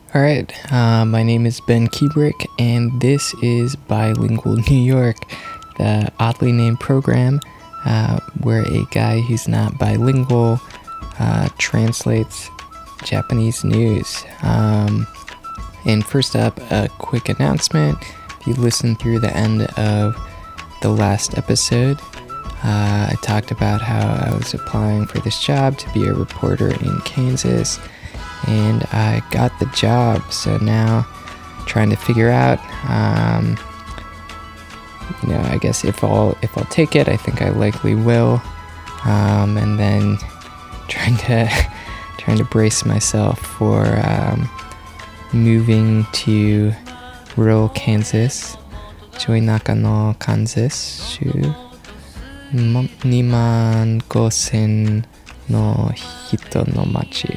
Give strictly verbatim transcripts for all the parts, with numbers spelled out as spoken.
All right, uh, my name is Ben Kubrick, and this is Bilingual New York, the oddly named program uh, where a guy who's not bilingual uh, translates Japanese news. Um, and first up, a quick announcement. If you listen through the end of the last episode, uh, I talked about how I was applying for this job to be a reporter in Kansas. And I got the job, so now trying to figure out, um, you know, I guess if I'll if I'll take it, I think I likely will, um, and then trying to trying to brace myself for um, moving to rural Kansas, Choi Nakano, Kansas, shu niman gosen no hito no machi.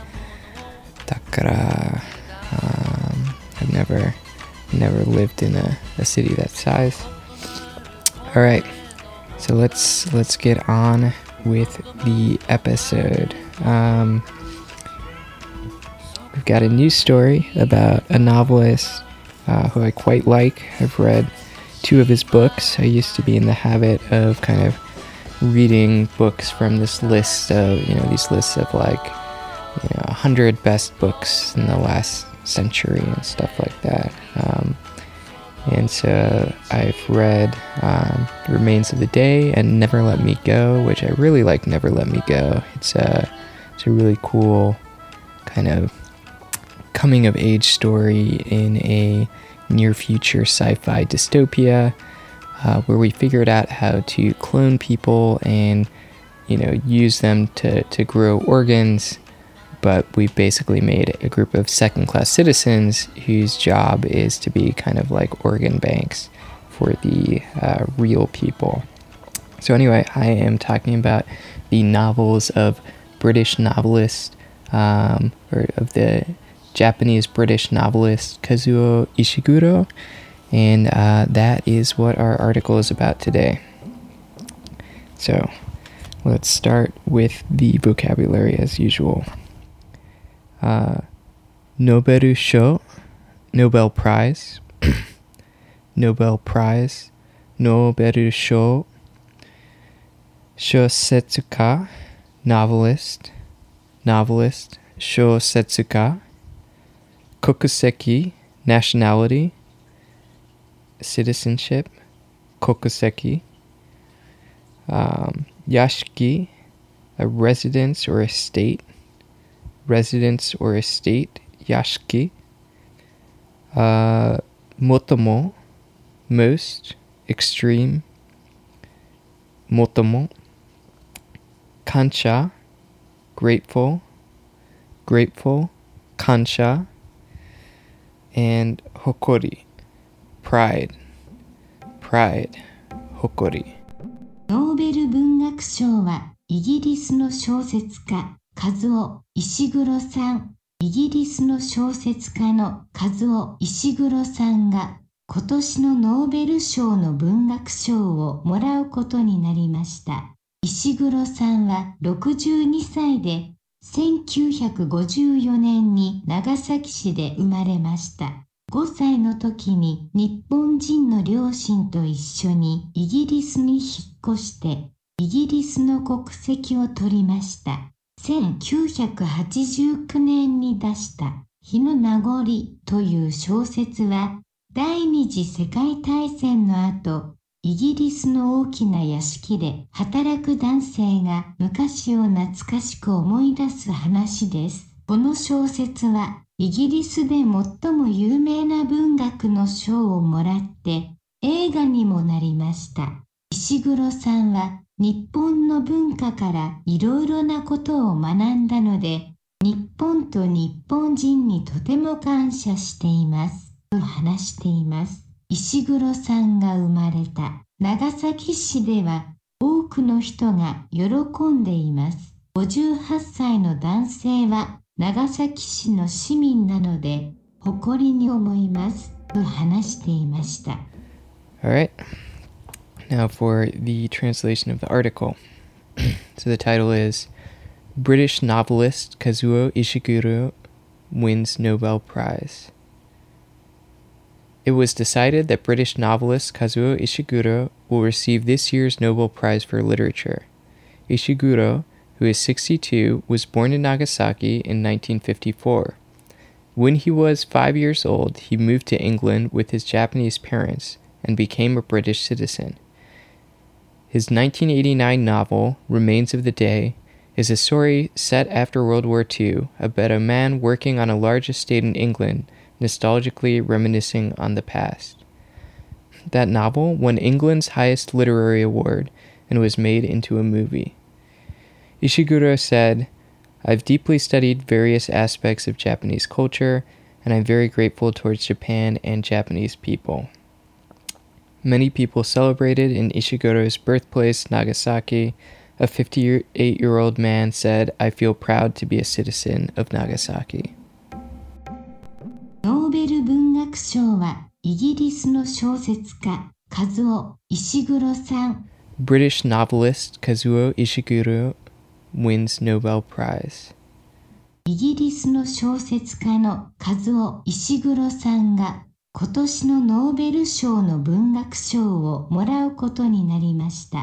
Takara, um, I've never, never lived in a, a city that size. All right, so let's let's get on with the episode. Um, we've got a new story about a novelist uh, who I quite like. I've read two of his books. I used to be in the habit of kind of reading books from this list of, you know, these lists of like, you know, one hundred best books in the last century and stuff like that. Um, and so I've read um, Remains of the Day and Never Let Me Go, which I really like. Never Let Me Go. It's a, it's a really cool kind of coming of age story in a near future sci-fi dystopia uh, where we figured out how to clone people and, you know, use them to, to grow organs. But we basically made a group of second-class citizens whose job is to be kind of like organ banks for the uh, real people. So anyway, I am talking about the novels of British novelist, um, or of the Japanese-British novelist Kazuo Ishiguro, and uh, that is what our article is about today. So let's start with the vocabulary as usual. Uh, Nobel Sho, Nobel Prize, Nobel Prize, Nobel Sho, Shosetsuka, novelist, novelist, Shosetsuka, Kokuseki, nationality, citizenship, Kokuseki, um, Yashiki, a residence or estate, residence or estate, yashiki, uh, motomo, most, extreme, motomo, kansha, grateful, grateful, kansha, and hokori, pride, pride, hokori. ノーベル文学賞はイギリスの小説家カズオ・石黒さん、イギリスの小説家のカズオ・石黒さんが今年のノーベル賞の文学賞をもらうことになりました。石黒さんはろくじゅうにさいでせんきゅうひゃくごじゅうよねんに長崎市で生まれました。ごさいの時に日本人の両親と一緒にイギリスに引っ越してイギリスの国籍を取りました。せんきゅうひゃくはちじゅうきゅうねんに出した日の名残という小説は第二次世界大戦の後、イギリスの大きな屋敷で働く男性が昔を懐かしく思い出す話です。この小説はイギリスで最も有名な文学の賞をもらって映画にもなりました。石黒さんは日本の文化からいろいろなことを学んだので、日本と日本人にとても感謝しています、と話しています。石黒さんが生まれた長崎市では多くの人が喜んでいます。ごじゅうはっさいの男性は長崎市の市民なので誇りに思います、と話していました。 All right. Now for the translation of the article. So the title is British novelist Kazuo Ishiguro wins Nobel Prize. It was decided that British novelist Kazuo Ishiguro will receive this year's Nobel Prize for Literature. Ishiguro, who is sixty-two, was born in Nagasaki in nineteen fifty-four. When he was five years old, he moved to England with his Japanese parents and became a British citizen. His nineteen eighty-nine novel, Remains of the Day, is a story set after World War Two about a man working on a large estate in England, nostalgically reminiscing on the past. That novel won England's highest literary award and was made into a movie. Ishiguro said, "I've deeply studied various aspects of Japanese culture, and I'm very grateful towards Japan and Japanese people." Many people celebrated in Ishiguro's birthplace, Nagasaki. A fifty-eight-year-old man said, "I feel proud to be a citizen of Nagasaki." ノーベル文学賞はイギリスの小説家カズオ・イシグロさん。 British novelist Kazuo Ishiguro wins Nobel Prize. イギリスの小説家のカズオ・イシグロさんが今年のノーベル賞の文学賞をもらうことになりました。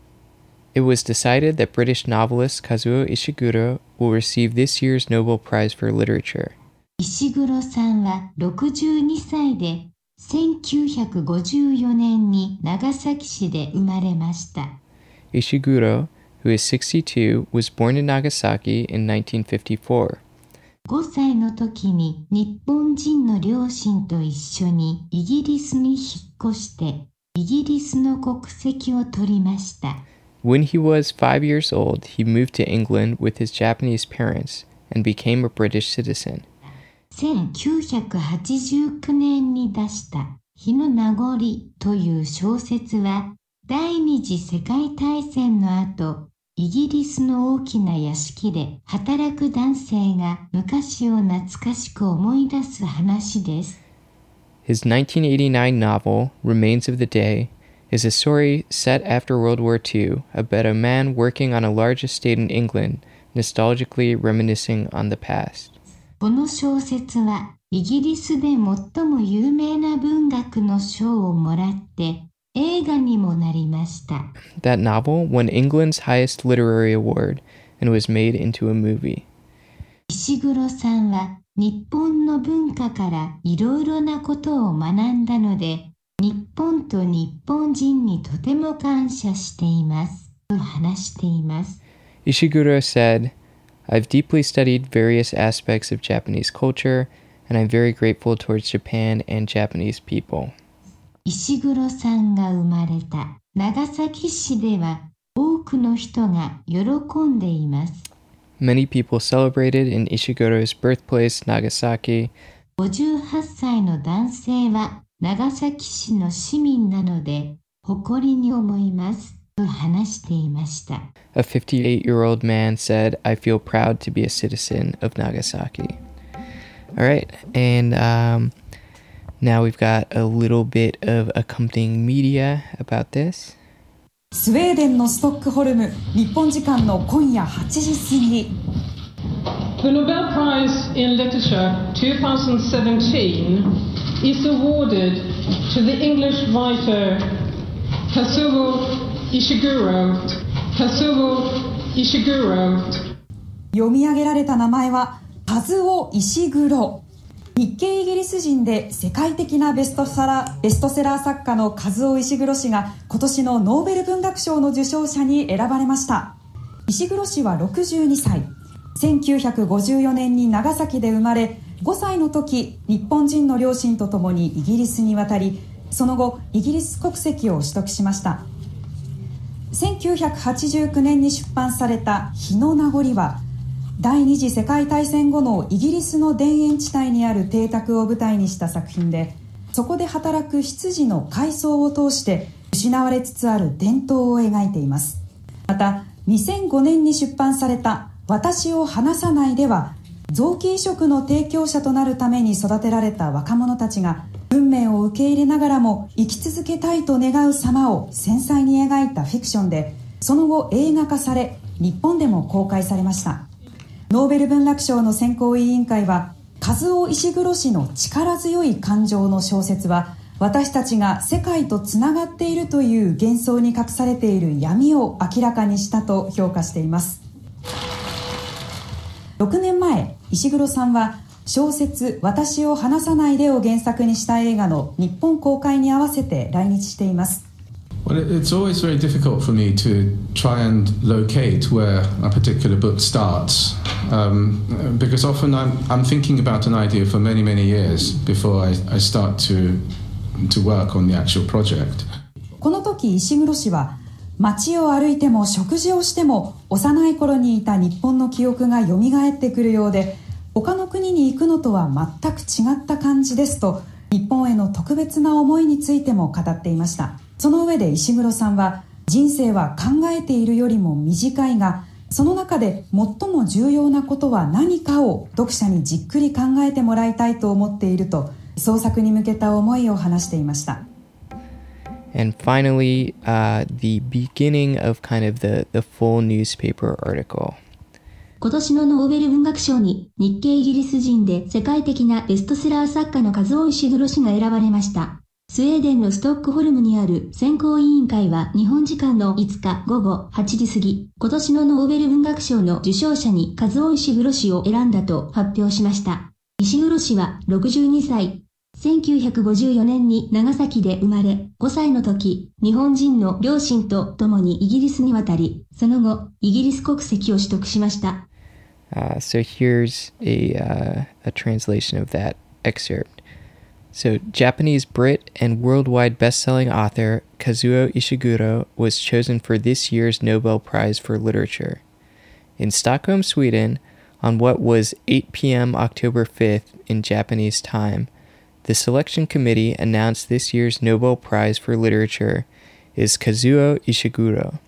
It was decided that British novelist Kazuo Ishiguro will receive this year's Nobel Prize for Literature. 石黒さんはろくじゅうにさいでせんきゅうひゃくごじゅうよねんに長崎市で生まれました。 Ishiguro, who is sixty-two, was born in Nagasaki in nineteen fifty-four. ごさいの時に日本人の両親と一緒にイギリスに引っ越してイギリスの国籍を取りました。 When he was five years old, he moved to England with his Japanese parents and became a British citizen. せんきゅうひゃくはちじゅうきゅうねんに出した日の名残という小説は第二次世界大戦の後、イギリスの大きな屋敷で働く男性が昔を懐かしく思い出す話です。 His nineteen eighty-nine novel, Remains of the Day, is a story set after World War Two about a man working on a large estate in England, nostalgically reminiscing on the past. この小説はイギリスで最も有名な文学の賞をもらって映画にもなりました。 That novel won England's highest literary award and was made into a movie. 石黒さんは日本の文化からいろいろなことを学んだので、日本と日本人にとても感謝していますと話しています。 Ishiguro said, "I've deeply studied various aspects of Japanese culture, and I'm very grateful towards Japan and Japanese people." 石黒さんが生まれた長崎市では多くの人が喜んでいます。 Many people celebrated in Ishiguro's birthplace, Nagasaki. ごじゅうはっさいの男性は長崎市の市民なので誇りに思いますと話していました。 A fifty-eight-year-old man said, "I feel proud to be a citizen of Nagasaki." All right, and um, now we've got a little bit of accompanying media about this. スウェーデンのストックホルム、日本時間の今夜はちじ過ぎ。 The Nobel Prize in Literature twenty seventeen is awarded to the English writer Kazuo Ishiguro. Kazuo Ishiguro. 読み上げられた名前はカズオ・イシグロ。日系イギリス人で世界的なベストセラー、ベストセラー作家のカズオ・イシグロ氏が今年のノーベル文学賞の受賞者に選ばれました。イシグロ氏はろくじゅうにさい。せんきゅうひゃくごじゅうよねんに長崎で生まれ、ごさいの時、日本人の両親とともにイギリスに渡り、その後、イギリス国籍を取得しました。せんきゅうひゃくはちじゅうきゅうねんに出版された日の名残は、第二次世界大戦後のイギリスの田園地帯にある邸宅を舞台にした作品で、そこで働く執事の回想を通して失われつつある伝統を描いています。また、にせんごねんに出版された私を離さないでは、臓器移植の提供者となるために育てられた若者たちが運命を受け入れながらも生き続けたいと願う様を繊細に描いたフィクションで、その後映画化され日本でも公開されました。ノーベル文学賞の選考委員会は和夫石黒氏の力強い感情の小説は、私たちが世界とつながっているという幻想に隠されている闇を明らかにしたと評価しています。ろくねんまえ、石黒さんは小説「私を離さないで」を原作にした映画の日本公開に合わせて来日しています。 Well, it's always very difficult for me to try and locate where a particular book starts, um, because often I'm, I'm thinking about an idea for many, many years before I, I start to, to work on the actual project. この時、石黒氏は街を歩いても食事をしても幼い頃にいた日本の記憶が蘇ってくるようで、他の国に行くのとは全く違った感じですと、日本への特別な思いについても語っていました。その上で石黒さんは、人生は考えているよりも短いが、その中で最も重要なことは何かを読者にじっくり考えてもらいたいと思っていると、創作に向けた思いを話していました。 And finally, uh, the beginning of kind of the, the full newspaper article. 今年のノーベル文学賞に日系イギリス人で世界的なベストセラー作家の和夫石黒氏が選ばれました。スウェーデンのストックホルムにある選考委員会は日本時間のいつかごごはちじ過ぎ、今年のノーベル文学賞の受賞者に和夫石黒氏を選んだと発表しました。石黒氏はろくじゅうにさい。せんきゅうひゃくごじゅうよねんに長崎で生まれ、ごさいの時、日本人の両親と共にイギリスに渡り、その後、イギリス国籍を取得しました。 Uh, so here's a, uh, a translation of that excerpt.So, Japanese Brit and worldwide best-selling author Kazuo Ishiguro was chosen for this year's Nobel Prize for Literature. In Stockholm, Sweden, on what was eight p.m. October fifth in Japanese time, the selection committee announced this year's Nobel Prize for Literature is Kazuo Ishiguro.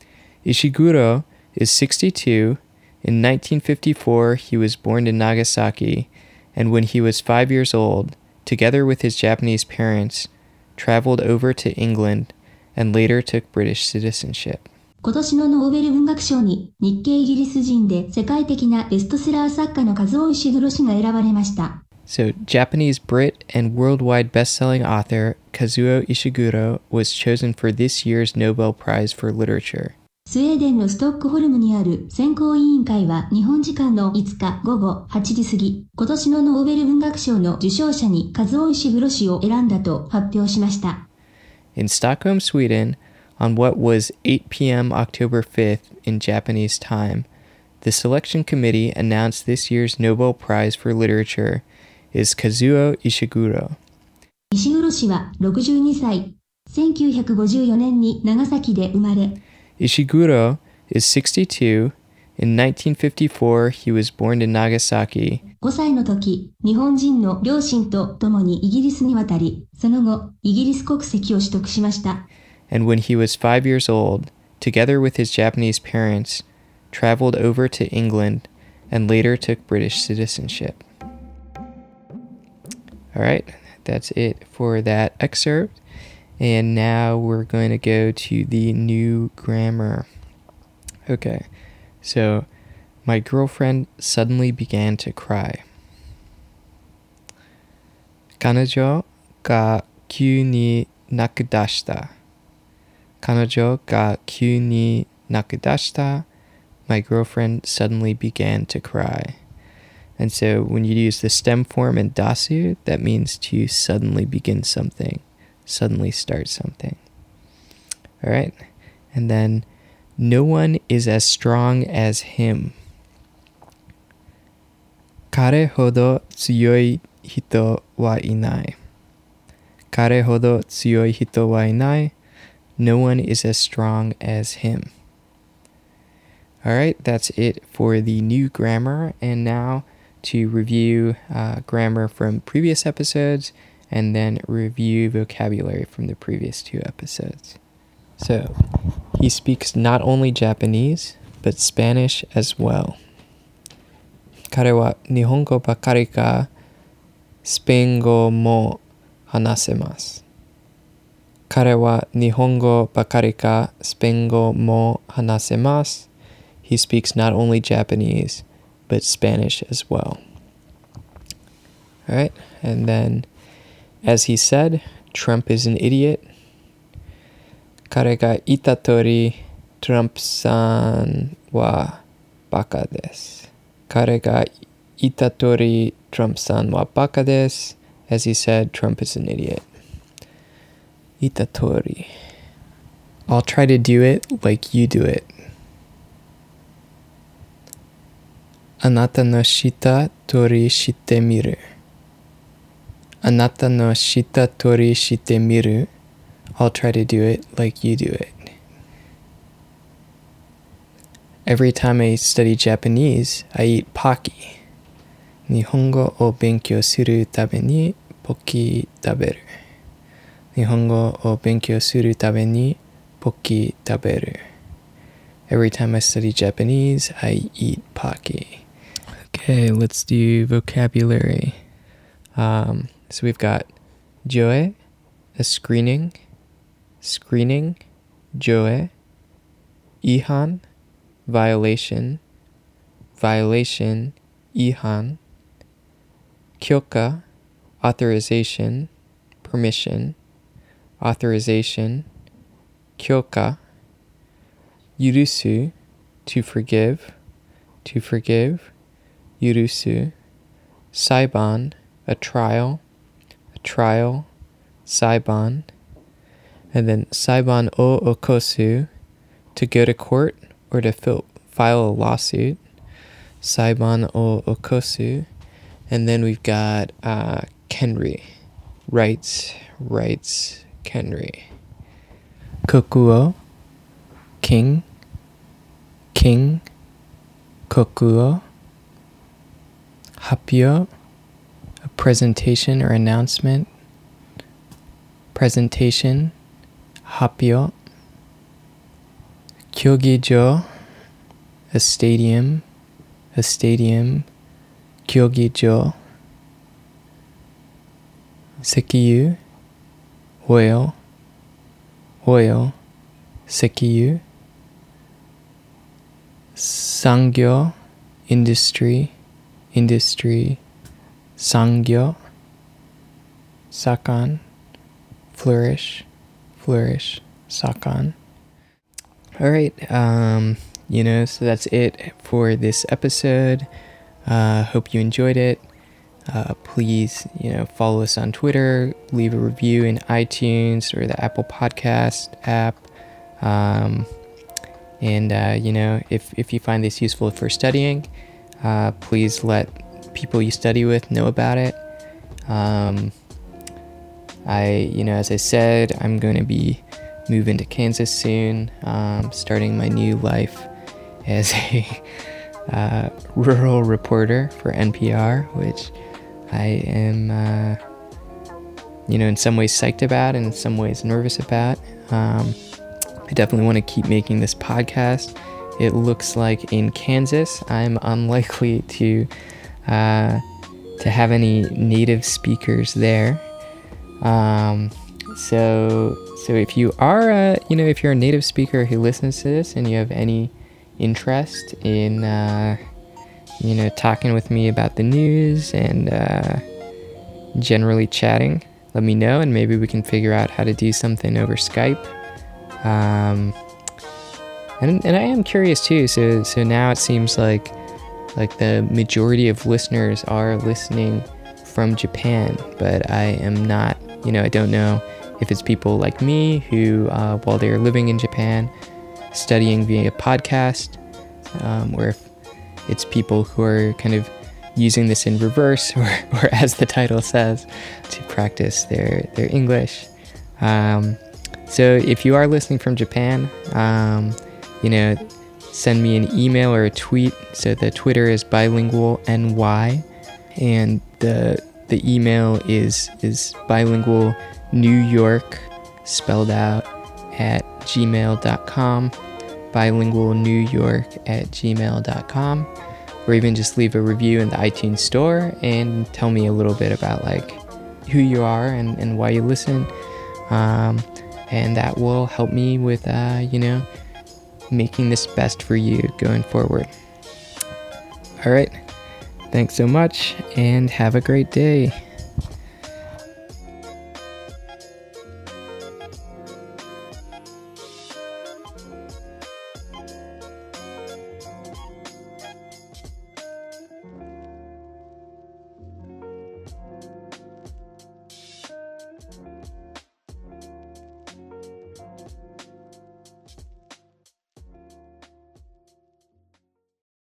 Ishiguro is sixty-two. In nineteen fifty-four, he was born in Nagasaki, and when he was five years old,together with his Japanese parents, traveled over to England and later took British citizenship. 今年のノーベル文学賞に日系イギリス人で世界的なベストセラー作家の和夫石黒氏が選ばれました。 So, Japanese Brit and worldwide best-selling author Kazuo Ishiguro was chosen for this year's Nobel Prize for Literature. スウェーデンのストックホルムにある選考委員会は日本時間のいつかごごはちじ過ぎ、今年のノーベル文学賞の受賞者に和夫石黒氏を選んだと発表しました。 In Stockholm, Sweden, on what was eight p.m. October fifth in Japanese time, the selection committee announced this year's Nobel Prize for Literature is Kazuo Ishiguro. 石黒氏はろくじゅうにさい。せんきゅうひゃくごじゅうよねんに長崎で生まれ、 Ishiguro is sixty-two. In nineteen fifty-four, he was born in Nagasaki. ごさいの時、日本人の両親と共にイギリスに渡り、その後、イギリス国籍を取得しました。 And when he was five years old, together with his Japanese parents, traveled over to England and later took British citizenship. All right, that's it for that excerpt.And now we're going to go to the new grammar. Okay, so my girlfriend suddenly began to cry. 彼女が急に泣き出した。彼女が急に泣き出した。My girlfriend suddenly began to cry.And so when you use the stem form in dasu, that means to suddenly begin something.Suddenly start something. All right. And then, no one is as strong as him. 彼ほど強い人はいない。彼ほど強い人はいない。No one is as strong as him. All right. That's it for the new grammar. And now to review uh, grammar from previous episodes.And then review vocabulary from the previous two episodes. So, he speaks not only Japanese, but Spanish as well. 彼は日本語ばかりか、スペイン語も話せます。彼は日本語ばかりか、スペイン語も話せます。He speaks not only Japanese, but Spanish as well. All right, and then, as he said, Trump is an idiot. 彼が言った通り、トランプさんはバカです。彼が言った通り、トランプさんはバカです。As he said, Trump is an idiot. 言った通り。I'll try to do it like you do it. あなたのした通りしてみる。あなたのした通りしてみる。I'll try to do it like you do it. Every time I study Japanese, I eat Pocky. 日本語を勉強するためにポキ食べる。日本語を勉強するためにポキ食べる。Every time I study Japanese, I eat Pocky. Okay, let's do vocabulary. Um, so we've got joe, a screening, screening, joe, ihan, violation, violation, ihan, kyoka, authorization, permission, authorization, kyoka, yurusu, to forgive, to forgive, yurusu, saiban, a trial, a trial, saiban, and then saiban o okosu, to go to court or to fil- file a lawsuit, saiban o okosu, and then we've got uh, kenri, rights, rights, kenri, kokuo, king, king, kokuo, hapyo, a presentation or announcement, presentation, hapyo, kyogijo, a stadium, a stadium, kyogijo, sekiyu, oil, oil, sekiyu, sangyo, industry, industry, sangyo, sakan, flourish, flourish, sakan. All right, um, you know, so that's it for this episode. Uh, hope you enjoyed it. Uh, please, you know, follow us on Twitter, leave a review in iTunes or the Apple Podcast app. Um, and, uh, you know, if, if you find this useful for studying, uh, please let people you study with know about it. Um, I, you know, as I said, I'm going to be moving to Kansas soon, um, starting my new life as a uh, rural reporter for N P R, which I am, uh, you know, in some ways psyched about and in some ways nervous about. Um, I definitely want to keep making this podcast. It looks like in Kansas, I'm unlikely to uh, to have any native speakers there. Um, so, so if you are, a, you know, if you're a native speaker who listens to this and you have any interest in, uh, you know, talking with me about the news and uh, generally chatting, let me know, and maybe we can figure out how to do something over Skype. Um, and and I am curious too. So so now it seems like like the majority of listeners are listening from Japan, but I am not. You know, I don't know if it's people like me who, uh, while they're living in Japan, studying via podcast, um, or if it's people who are kind of using this in reverse, or, or as the title says, to practice their, their English. Um, so if you are listening from Japan, um, you know, send me an email or a tweet. So the Twitter is bilingual N Y, and the the email is is bilingual New York spelled out at gmail dot com, bilingual New York at gmail dot com, or even just leave a review in the iTunes store and tell me a little bit about like who you are and, and why you listen, um, and that will help me with uh, you know, making this best for you going forward. All right, Thanks so much, and have a great day.